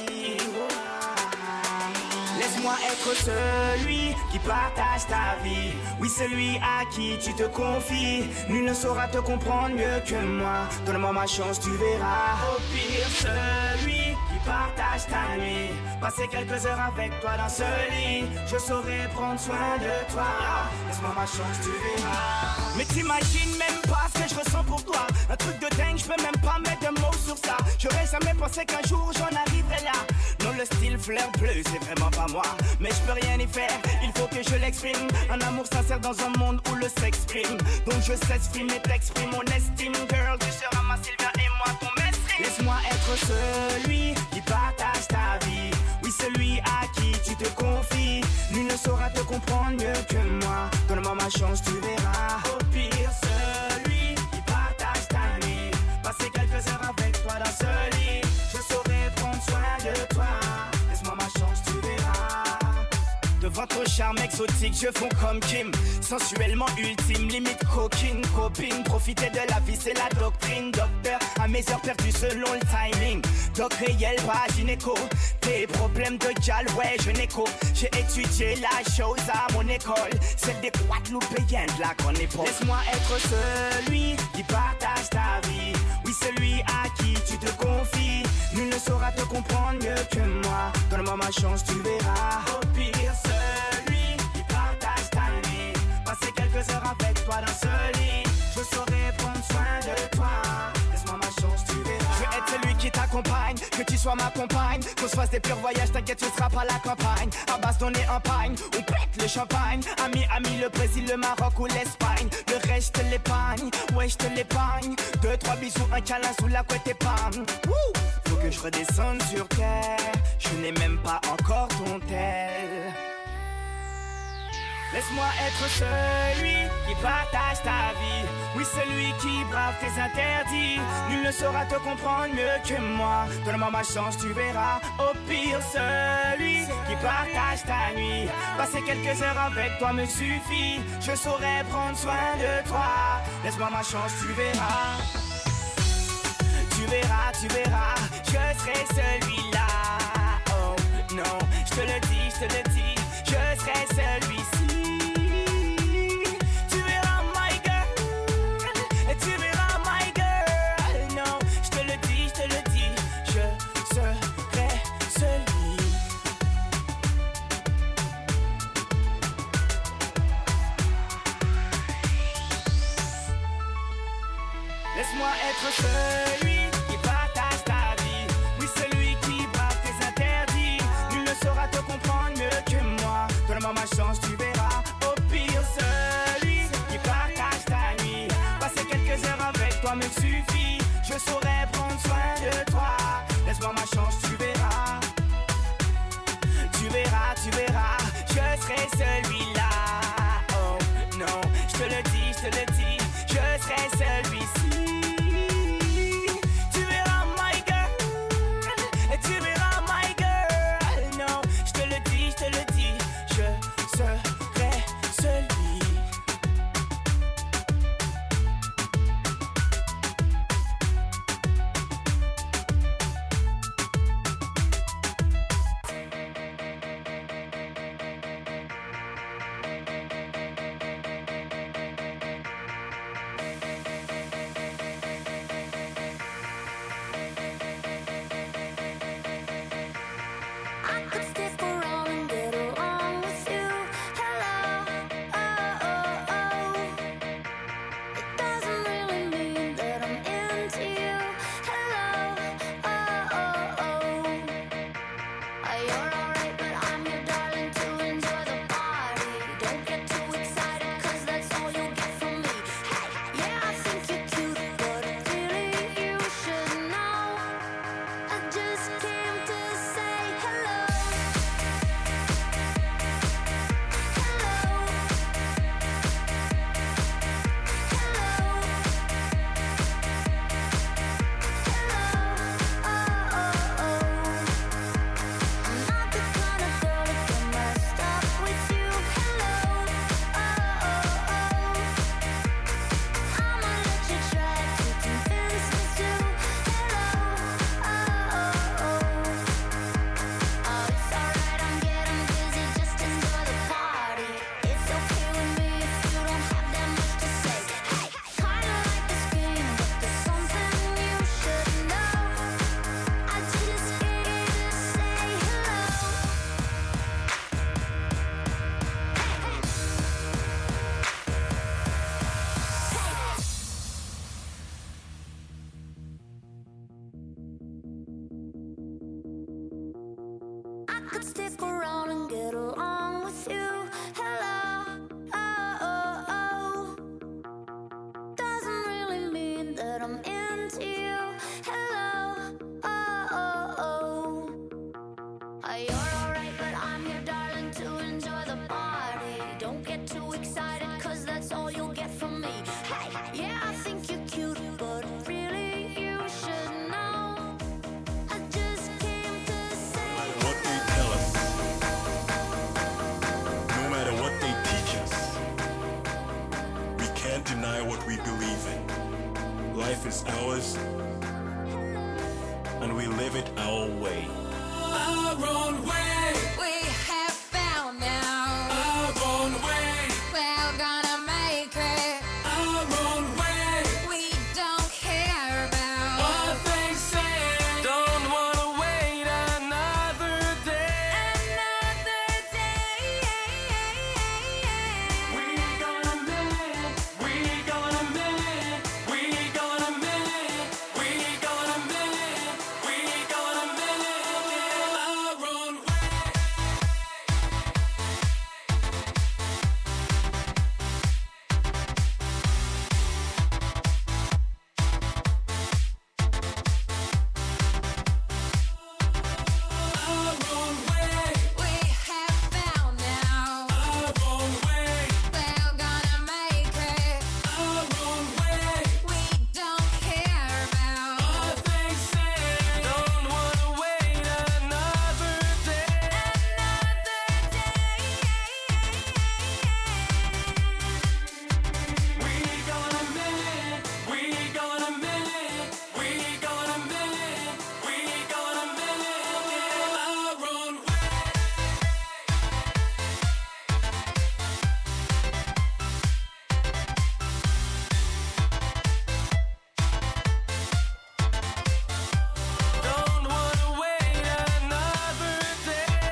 [SPEAKER 19] Laisse-moi être celui qui partage ta vie. Oui, celui à qui tu te confies. Nul ne saura te comprendre mieux que moi. Donne-moi ma chance, tu verras. Au pire, celui qui partage ta nuit. Passer quelques heures avec toi dans ce lit. Je saurai prendre soin de toi. Laisse-moi ma chance, tu verras. Mais t'imagines même pas ce que je ressens pour toi. Un truc de dingue, je peux même pas mettre de mots sur ça. J'aurais jamais pensé qu'un jour j'en arriverais là. Non, le style fleur bleue, c'est vraiment pas moi. Mais je peux rien y faire, il faut que je l'exprime. Un amour sincère dans un monde où le sexe prime. Donc je s'exprime et t'exprime mon estime. Girl, tu seras ma Sylvia et moi ton maître. Laisse-moi être celui qui partage ta vie. Oui, celui à qui tu te confies. Nul ne saura te comprendre mieux que moi. Donne-moi ma chance, tu verras. Au pire, celui qui partage ta nuit. Passer quelques heures avec toi dans ce lit. Je saurai prendre soin de toi. Laisse-moi ma chance, tu verras. Devant ton charme exotique, je fonds comme Kim. Sensuellement ultime, limite coquine, copine. Profiter de la vie, c'est la doctrine. Docteur, à mes heures perdues selon le timing. Doc réel, pas gynéco. Tes problèmes de gal, ouais, je n'écho. J'ai étudié la chose à mon école. Celle des Guadeloupéens de la grande époque. Laisse-moi être celui qui partage ta vie. Oui, celui à qui tu te confies. Nul ne saura te comprendre mieux que moi. Donne-moi ma chance, tu verras. Au pire, celui qui partage ta nuit. Passer quelques heures avec toi dans ce lit. Je saurai prendre soin de toi. Laisse-moi ma chance, tu verras. Je veux être celui qui t'accompagne, que tu sois ma compagne. Qu'on se fasse des purs voyages, t'inquiète, tu seras pas la campagne. À base d'on est en pagne, on pète le champagne. Ami, le Brésil, le Maroc ou l'Espagne. Le reste, je te l'épargne, ouais, je te l'épargne. 2, 3 bisous, un câlin sous la couette et pam. Faut que je redescende sur terre. Je n'ai même pas encore ton tel. Laisse-moi être celui qui partage ta vie. Oui, celui qui brave tes interdits. Nul ne saura te comprendre mieux que moi. Donne-moi ma chance, tu verras. Au pire, celui qui partage ta nuit. Passer quelques heures avec toi me suffit. Je saurai prendre soin de toi. Laisse-moi ma chance, tu verras. Tu verras, tu verras. Je serai celui-là. Oh non, je te le dis, je te le dis. Je serai celui-ci. Tu verras my girl. Tu verras my girl. Non, je te le dis, je te le dis. Je serai celui. Laisse-moi être celui qui partage ta vie. Oui, celui qui brave tes interdits. Nul ne saura te comprendre mieux que moi. Donne-moi ma chance, tu verras. Au pire, celui qui partage ta nuit. Passer quelques heures avec toi me suffit. Je saurai prendre soin de toi. Laisse-moi ma chance, tu verras. Tu verras, tu verras. Je serai celui-là. Oh non, je te le dis, je te le dis. Je serai celui-ci. Tu verras my girl. Tu verras my girl. Non, je te le dis, je te le dis. Je serai celui.
[SPEAKER 20] can't deny what we believe in. Life is ours, and we live it our way.
[SPEAKER 1] Our own way.
[SPEAKER 3] We have found now
[SPEAKER 1] Our own way.
[SPEAKER 3] we're gonna make it.
[SPEAKER 1] Our own way.
[SPEAKER 3] We don't care about
[SPEAKER 1] What they say. Don't wanna wait another day. We gonna make it. We gonna make it. We gonna make it. We gonna make it. We gonna make it our own way. Our own way.
[SPEAKER 3] we have found now
[SPEAKER 1] Our own way.
[SPEAKER 3] we're gonna make it.
[SPEAKER 1] Our own way.
[SPEAKER 3] We don't care about
[SPEAKER 1] What they say. Don't wanna wait another day. We gonna make it. We gonna make it. We gonna make it. We gonna make it our own way. Don't wanna wait another day.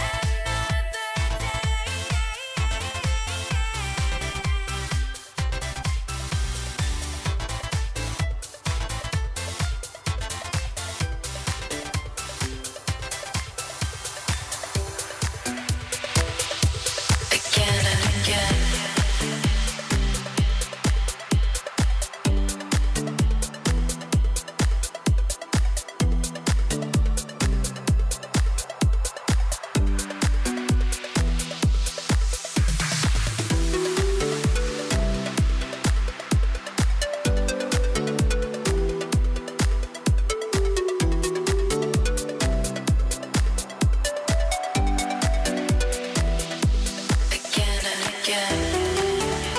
[SPEAKER 9] Again and again. Again and again.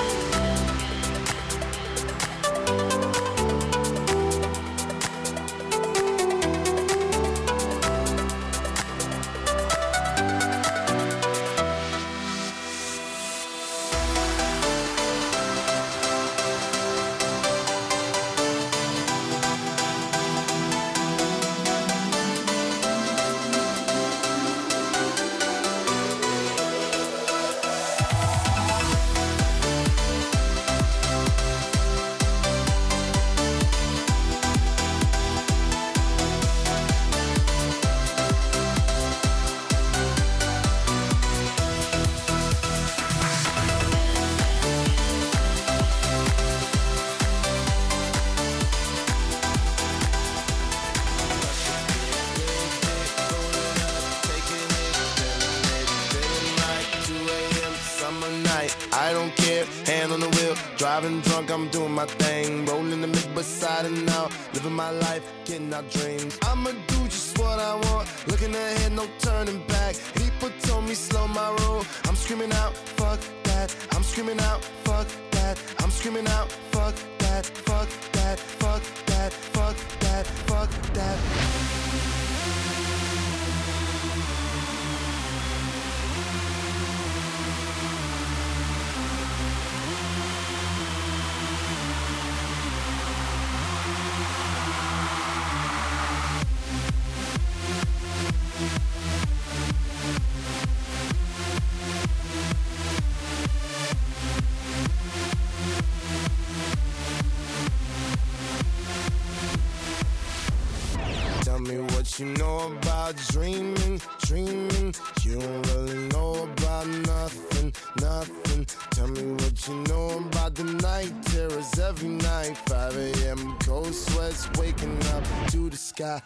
[SPEAKER 21] Summer night, I don't care, hand on the wheel, driving drunk, I'm doing my thing, rolling the mid beside and now, living my life, getting our dreams. I'ma do just what I want, looking ahead, no turning back. People told me slow my roll, I'm screaming out, fuck that. I'm screaming out, fuck that. I'm screaming out, fuck that, fuck that, fuck that, fuck that, fuck that. Tell me what you know about dreaming, dreaming. You don't really know about nothing, nothing. Tell me what you know about the night terrors every night. 5 a.m. cold sweats waking up to the sky.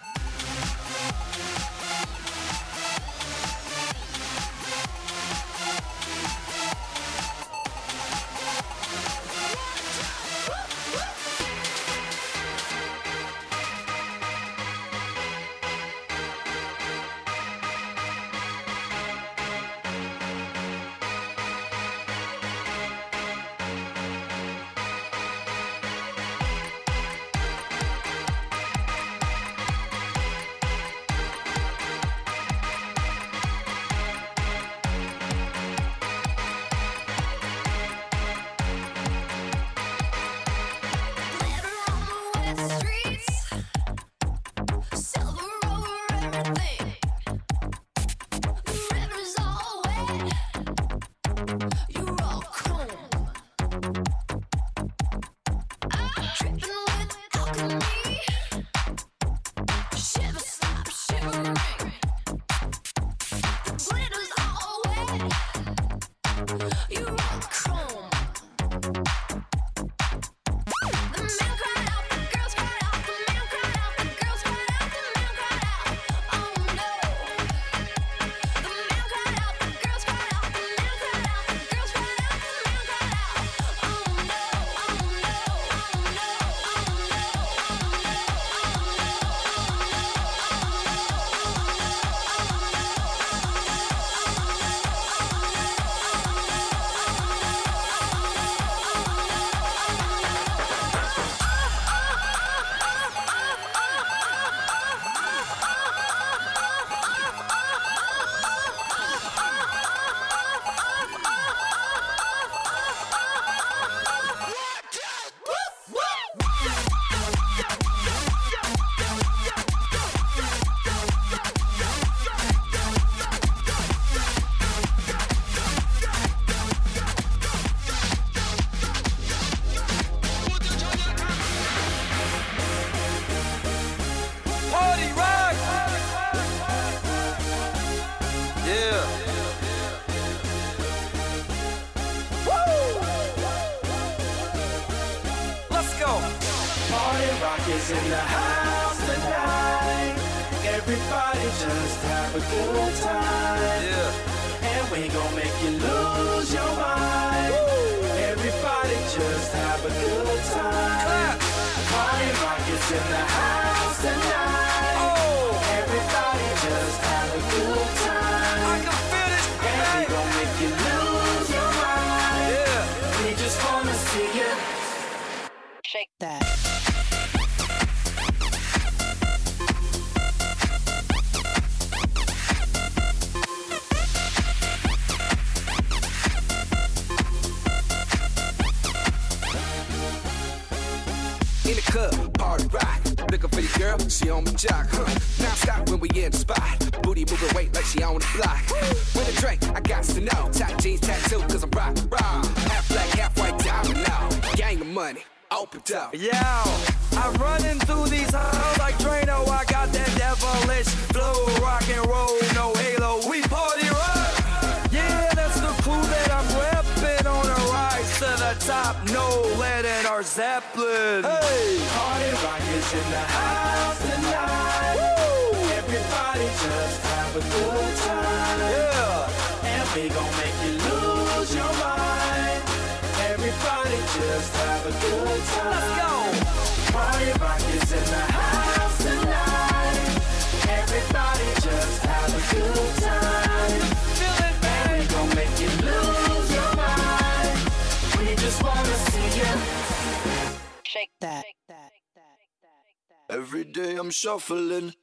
[SPEAKER 7] is in the house tonight. Everybody just have a good time. Yeah. And we gon' make you lose your mind. Woo. Everybody just have a good time. Party rock is in the house tonight. Oh. Everybody just have a good time. I can feel it. And we gon' make you lose your mind. Yeah. We just wanna see you shake that.
[SPEAKER 5] In the club, party rock. Looking for your girl, she on my jock. Now stop when we in the spot. Booty moving weight like she on the block. With a drink, I got to know. Tight jeans, tattoo, cause I'm rock, raw. Half black, half white, diamond now. Gang of money, open up.
[SPEAKER 22] Yo, I'm running through these halls like Drano. I got that devilish flow, rock and roll, no halo. We party rock. Yeah, that's the crew that I'm repping on a rise to the top. No lead in our Zeppelin. Hey,
[SPEAKER 7] party rock is in the house tonight. Woo. Everybody just have a good time. Yeah, and we gon' make you lose your mind. Everybody just have a good time.
[SPEAKER 22] Let's go.
[SPEAKER 7] Party rock is in the house tonight. Everybody just have a good time.
[SPEAKER 22] Feel it, man.
[SPEAKER 7] And we gon' make you lose your mind. We just wanna see you shake that.
[SPEAKER 21] Every day I'm shuffling.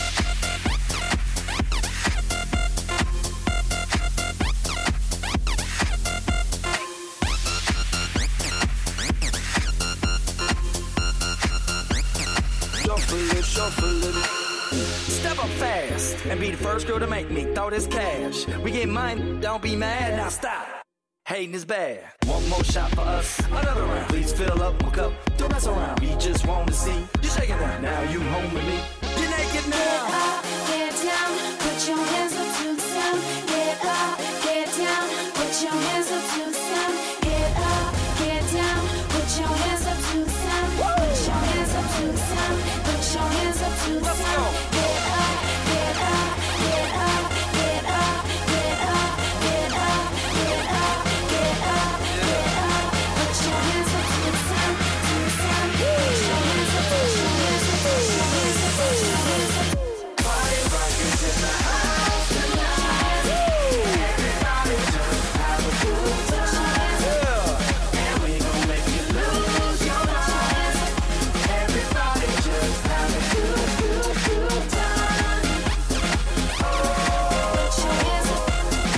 [SPEAKER 21] Shuffling.
[SPEAKER 22] Step up fast and be the first girl to make me throw this cash. We get mine, don't be mad, now stop. Hating is bad. One more shot for us, another round. Please fill up my cup, don't mess around. We just want to see you shaking that. Now you home with me, you're naked now.
[SPEAKER 3] Get up, get down, put your hands up to the sound. Get up, get down, put your hands up to the sound. Get up, get down, put your hands up to the sound. Put your hands up to the sound. Put your hands up to the sound. Get up, get up, get up, get up, get up, get up, get up, get up, get up. Put your hands up to the sound, to the sound. Put your hands up, put your hands up, put your hands up, put your hands up.
[SPEAKER 7] Party rock is in the house tonight. Everybody just have a good time. Yeah. And we gon' make you lose your mind. Everybody just have a good time. Oh, put your hands up.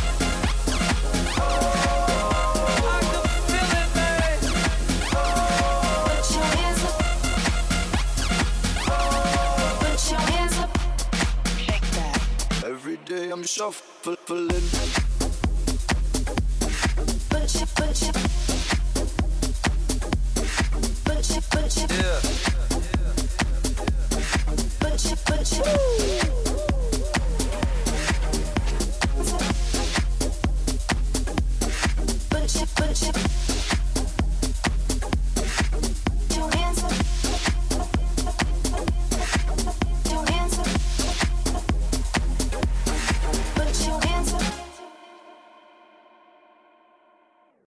[SPEAKER 22] I can feel it, man.
[SPEAKER 3] Put your hands up. Put your hands up. Shake that.
[SPEAKER 21] Every day I'm shuffling.
[SPEAKER 3] Put your